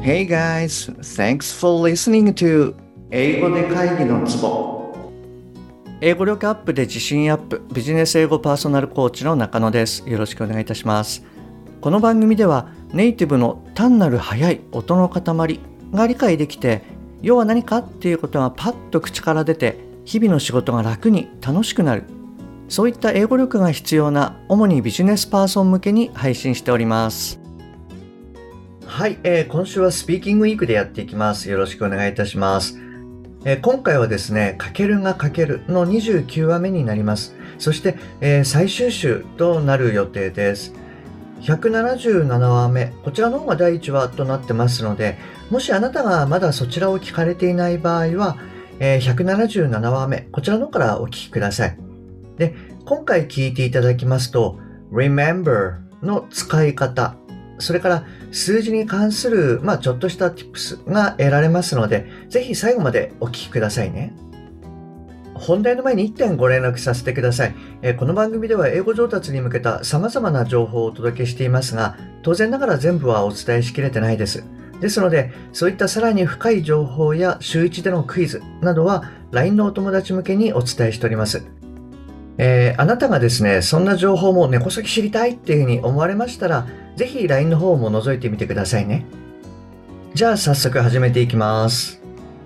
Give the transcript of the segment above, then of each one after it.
Hey guys, thanks for listening to 英語で会議のツボ。英語力アップで自信アップ、ビジネス英語パーソナルコーチの中野です。よろしくお願いいたします。この番組ではネイティブの単なる速い音の塊が理解できて、要は何かっていうことがパッと口から出て、日々の仕事が楽に楽しくなる。そういった英語力が必要な主にビジネスパーソン向けに配信しております。はい、今週はスピーキングウィークでやっていきます。よろしくお願いいたします。今回はですね、かけるがかけるの29話目になります。そして、最終週となる予定です。177話目、こちらの方が第1話となってますので、もしあなたがまだそちらを聞かれていない場合は、177話目、こちらの方からお聞きください。で、今回聞いていただきますと、remember の使い方、それから数字に関する、ちょっとした tips が得られますので、ぜひ最後までお聞きくださいね。本題の前に1点ご連絡させてください。この番組では英語上達に向けた様々な情報をお届けしていますが、当然ながら全部はお伝えしきれてないです。ですので、そういったさらに深い情報や週1でのクイズなどは LINE のお友達向けにお伝えしております。あなたがですね、そんな情報も根こそぎ知りたいっていうふうに思われましたら、ぜひ LINE の方も覗いてみてくださいね。じゃあ早速始めていきます。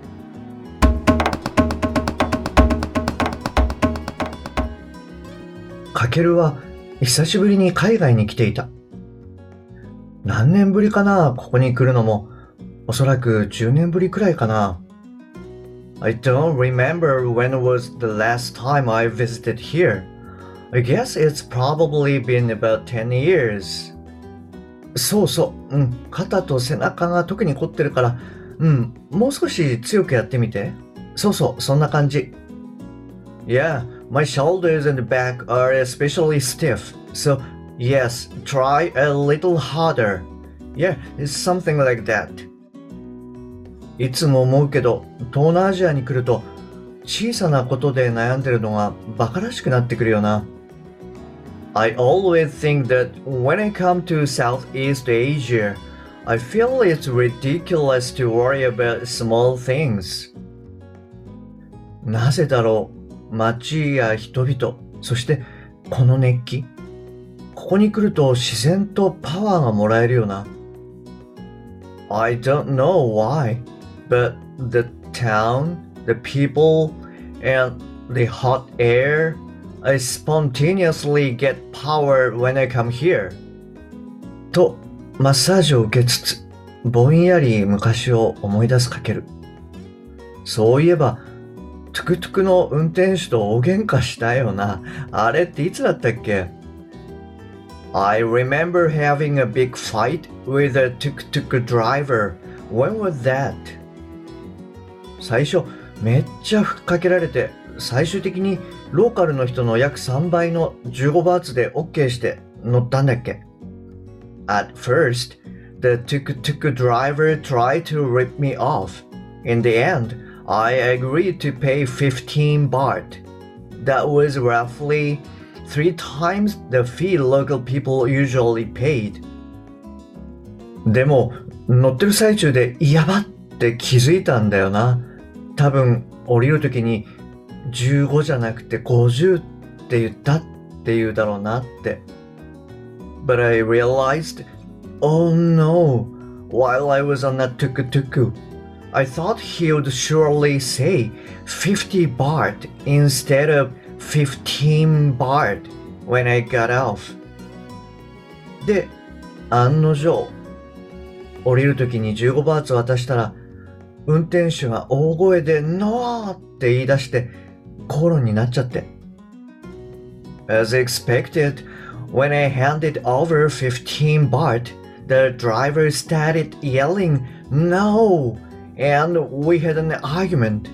かけるは久しぶりに海外に来ていた。何年ぶりかな、ここに来るのも。おそらく10年ぶりくらいかな。I don't remember when was the last time I visited here. I guess it's probably been about 10 years. そうそう、肩と背中が特に凝ってるから、もう少し強くやってみて。そうそう、そんな感じ。Yeah, my shoulders and back are especially stiff. So, yes, try a little harder. Yeah, it's something like that. いつも思うけど、東南アジアに来ると、小さなことで悩んでるのがバカらしくなってくるよな。I always think that when I come to Southeast Asia, I feel it's ridiculous to worry about small things. なぜだろう。街や人々、そしてこの熱気。ここに来ると自然とパワーがもらえるよな。I don't know why.But the town, the people, and the hot air, I spontaneously get power when I come here. と、マッサージを受けつつ、ぼんやり昔を思い出すかける。そういえば、トゥクトゥクの運転手と大喧嘩したよな。あれっていつだったっけ？ I remember having a big fight with a tuk-tuk driver. When was that?最初めっちゃふっかけられて、最終的にローカルの人の約3倍の15バーツで OK して乗ったんだっけ。At first, the tuk-tuk driver tried to rip me off. In the end, I agreed to pay 15 baht. That was roughly 3 times the fee local people usually paid. でも乗ってる最中でやばって気づいたんだよな。多分降りるときに15じゃなくて50って言ったって言うだろうなって。But I realized, oh no, while I was on that tuk-tuk, I thought he would surely say 50 baht instead of 15 baht when I got off. で、案の定、降りるときに15バーツ渡したら、運転手が大声でノーって言い出して口論になっちゃって。As expected, when I handed over 15 baht, the driver started yelling no, and we had an argument.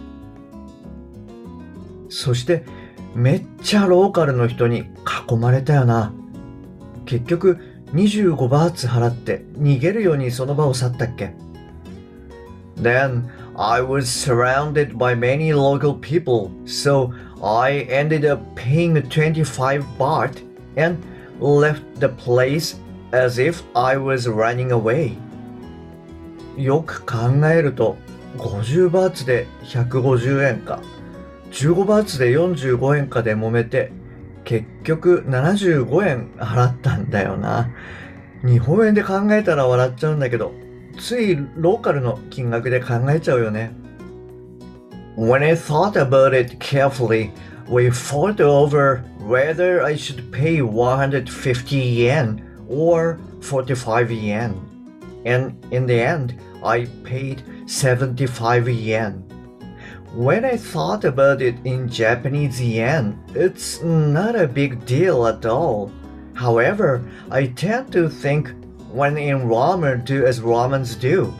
そしてめっちゃローカルの人に囲まれたよな。結局25バーツ払って逃げるようにその場を去ったっけ。Then I was surrounded by many local people, so I ended up paying 25 baht and left the place as if I was running away. よく考えると、50バーツで150円か、15バーツで45円かで揉めて、結局75円払ったんだよな。日本円で考えたら笑っちゃうんだけど、ついローカルの金額で考えちゃうよね。When I thought about it carefully, we fought over whether I should pay 150 yen or 45 yen. And in the end, I paid 75 yen. When I thought about it in Japanese yen, it's not a big deal at all. However, I tend to think when in ramen, do as ramens do.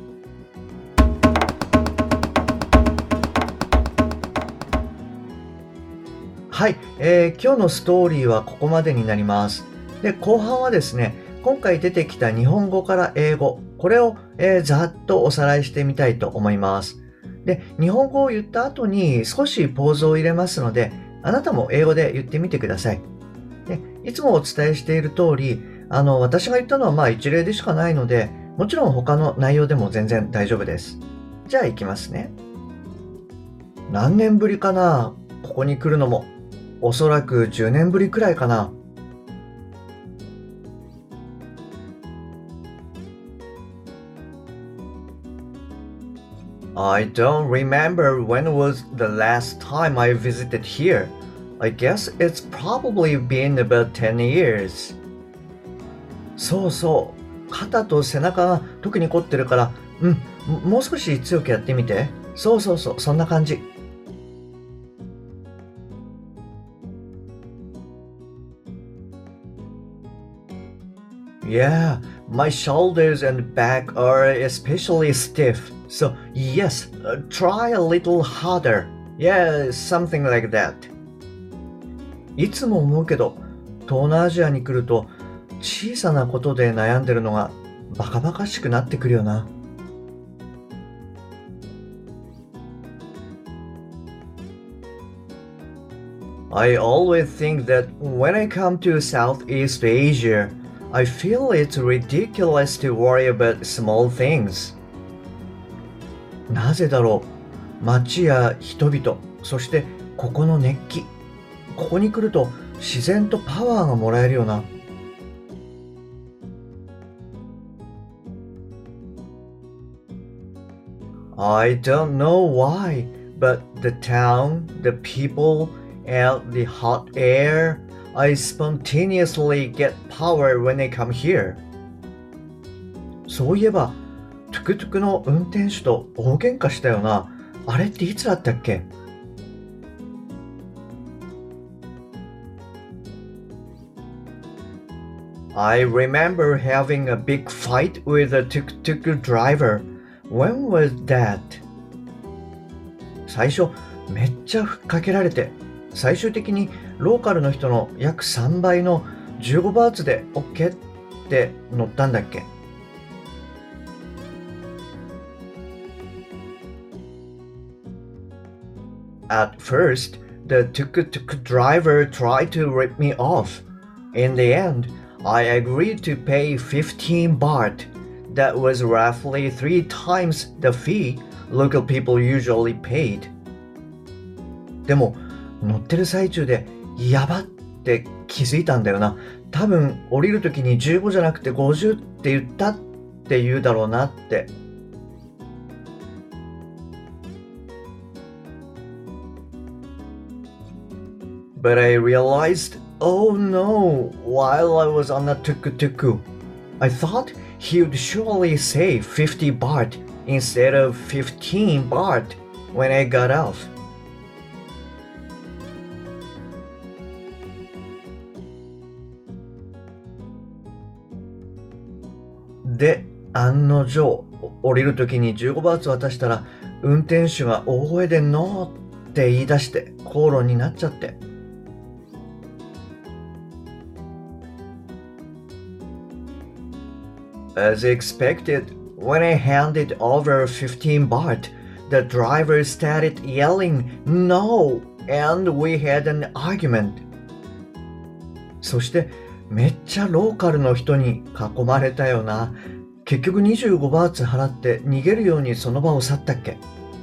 はい、今日のストーリーはここまでになります。で、後半はですね、今回出てきた日本語から英語、これを、ざっとおさらいしてみたいと思います。で、日本語を言った後に少しポーズを入れますので、あなたも英語で言ってみてください。で、いつもお伝えしている通り、私が言ったのは一例でしかないので、もちろん他の内容でも全然大丈夫です。じゃあ行きますね。何年ぶりかな、ここに来るのも。おそらく10年ぶりくらいかな。I don't remember when was the last time I visited here. I guess it's probably been about 10 years. そうそう。肩と背中が特に凝ってるから、もう少し強くやってみて。そうそうそう、そんな感じ。Yeah, my shoulders and back are especially stiff. So, yes, try a little harder. Yeah, something like that. いつも思うけど、東南アジアに来ると小さなことで悩んでるのがバカバカしくなってくるよな。I always think that when I come to Southeast Asia, I feel it's ridiculous to worry about small things. なぜだろう。街や人々、そしてここの熱気。ここに来ると自然とパワーがもらえるよな。I don't know why, but the town, the people, and the hot air, I spontaneously get power when I come here. そういえば、トゥクトゥクの運転手と大喧嘩したよな。あれっていつだったっけ？ I remember having a big fight with a tuk-tuk driver. When was that? 最初、めっちゃふっかけられて、最終的にローカルの人の約3倍の15バーツで OK って乗ったんだっけ？ At first, the tuk-tuk driver tried to rip me off. In the end, I agreed to pay 15 baht. That was roughly 3 times the fee local people usually paid. でも、乗ってる最中で、やばって気づいたんだよな。多分、降りるときに15じゃなくて50って言ったって言うだろうなって。But I realized, oh no, while I was on the tuk-tuk, I thought he would surely say 50 baht instead of 15 baht when I got off. で、案の定、降りるときに15バーツ渡したら、運転手が大声でノーって言い出して口論になっちゃって。As expected, when I handed over 15 baht, the driver started yelling no, and we had an argument. そしてめっちゃローカルの人に囲まれたよな。 結局25バーツ払って逃げるようにその場を去ったっけ？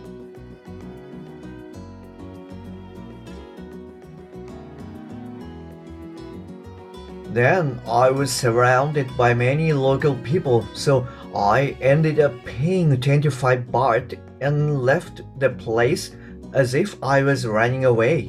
Then I was surrounded by many local people, so I ended up paying 25 baht and left the place as if I was running away.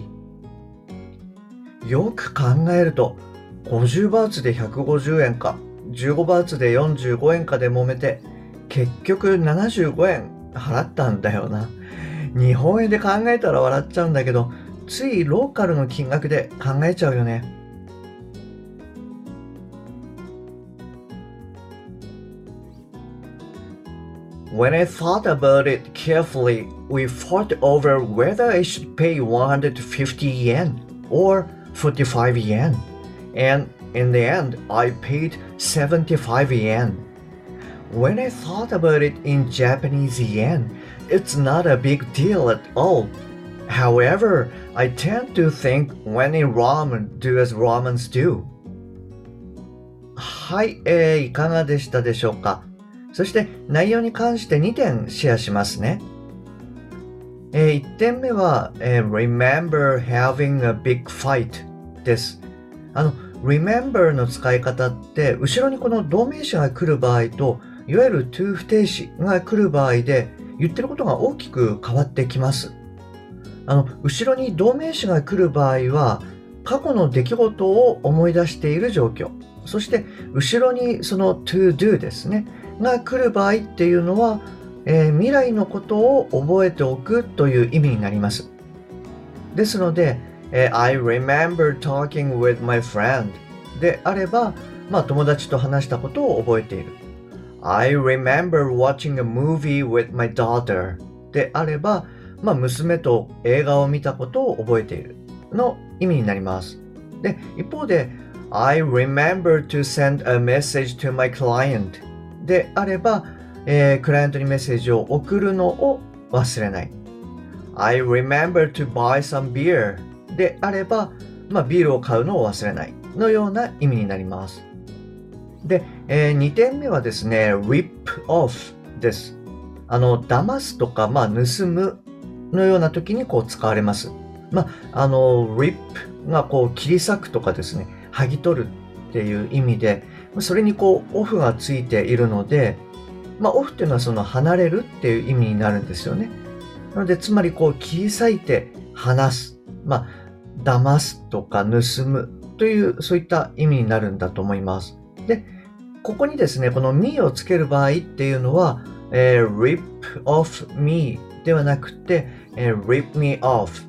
よく考えると、50バーツで150円か、15バーツで45円かで揉めて、結局75円払ったんだよな。日本円で考えたら笑っちゃうんだけど、ついローカルの金額で考えちゃうよね。When I thought about it carefully, we fought over whether I should pay 150 yen or 45 yen. And in the end, I paid 75 yen. When I thought about it in Japanese yen, it's not a big deal at all. However, I tend to think when in ramen, do as ramens do. はい、いかがでしたでしょうか。そして内容に関して2点シェアしますね。1点目は、remember having a big fight です。remember の使い方って後ろにこの動名詞が来る場合といわゆる to 不定詞が来る場合で言ってることが大きく変わってきます。後ろに動名詞が来る場合は過去の出来事を思い出している状況。そして後ろにその to do ですね。が来る場合っていうのは、未来のことを覚えておくという意味になります。ですので、I remember talking with my friend であれば、友達と話したことを覚えている。I remember watching a movie with my daughter であれば、娘と映画を見たことを覚えているの意味になります。で、一方で、I remember to send a message to my clientであれば、クライアントにメッセージを送るのを忘れない。I remember to buy some beer であれば、ビールを買うのを忘れないのような意味になります。で、2点目はですね、rip off です。騙すとか、盗むのような時にこう使われます。rip がこう切り裂くとかですね、剥ぎ取るっていう意味で、それにこうオフがついているので、オフっていうのはその離れるっていう意味になるんですよね。なのでつまりこう切り裂いて離す、騙すとか盗むというそういった意味になるんだと思います。で、ここにですねこの me をつける場合っていうのは、rip off me ではなくて、rip me off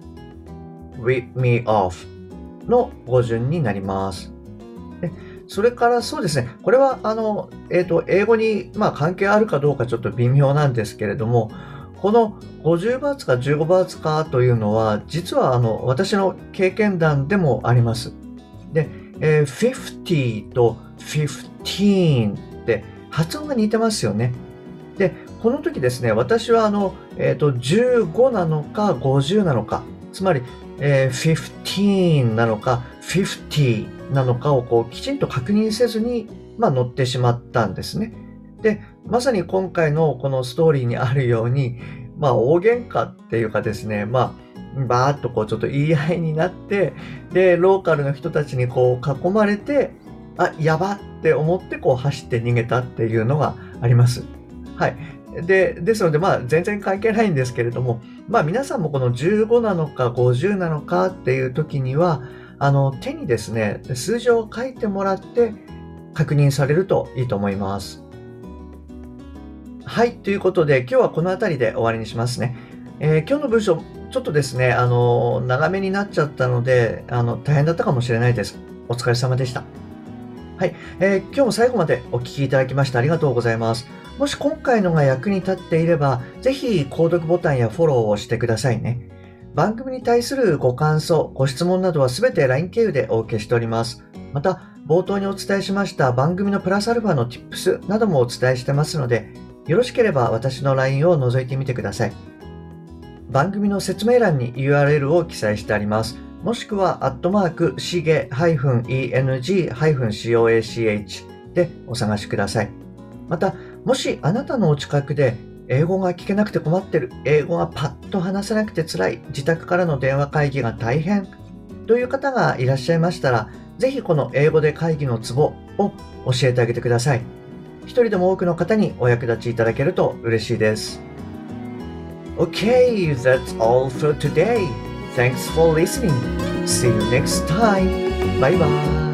の語順になります。でそれからそうですね、これは英語に関係あるかどうかちょっと微妙なんですけれども、この50バーツか15バーツかというのは、実は私の経験談でもあります。で、50と15って発音が似てますよね。で、この時ですね、私は15なのか50なのか、つまり、15なのか50なのかをこうきちんと確認せずに、乗ってしまったんですね。で、まさに今回のこのストーリーにあるように、大喧嘩っていうかですね、バーっとこうちょっと言い合いになって、で、ローカルの人たちにこう囲まれて、やばって思ってこう走って逃げたっていうのがあります。はい。ですので、全然関係ないんですけれども、皆さんもこの15なのか50なのかっていう時には、手にですね、数字を書いてもらって確認されるといいと思います。はい、ということで今日はこの辺りで終わりにしますね。今日の文章、ちょっとですね、長めになっちゃったので、大変だったかもしれないです。お疲れ様でした。はい、今日も最後までお聞きいただきましてありがとうございます。もし今回のが役に立っていれば、ぜひ購読ボタンやフォローをしてくださいね。番組に対するご感想、ご質問などはすべて LINE 経由でお受けしております。また、冒頭にお伝えしました番組のプラスアルファの Tips などもお伝えしてますので、よろしければ私の LINE を覗いてみてください。番組の説明欄に URL を記載してあります。もしくは、shige-eng-coach でお探しください。また、 もしあなたのお近くで英語が聞けなくて困ってる、英語がパッと話せなくて辛い、自宅からの電話会議が大変という方がいらっしゃいましたら、ぜひこの英語で会議のツボを教えてあげてください。一人でも多くの方にお役立ちいただけると嬉しいです。Okay, that's all for today. Thanks for listening. See you next time. Bye bye.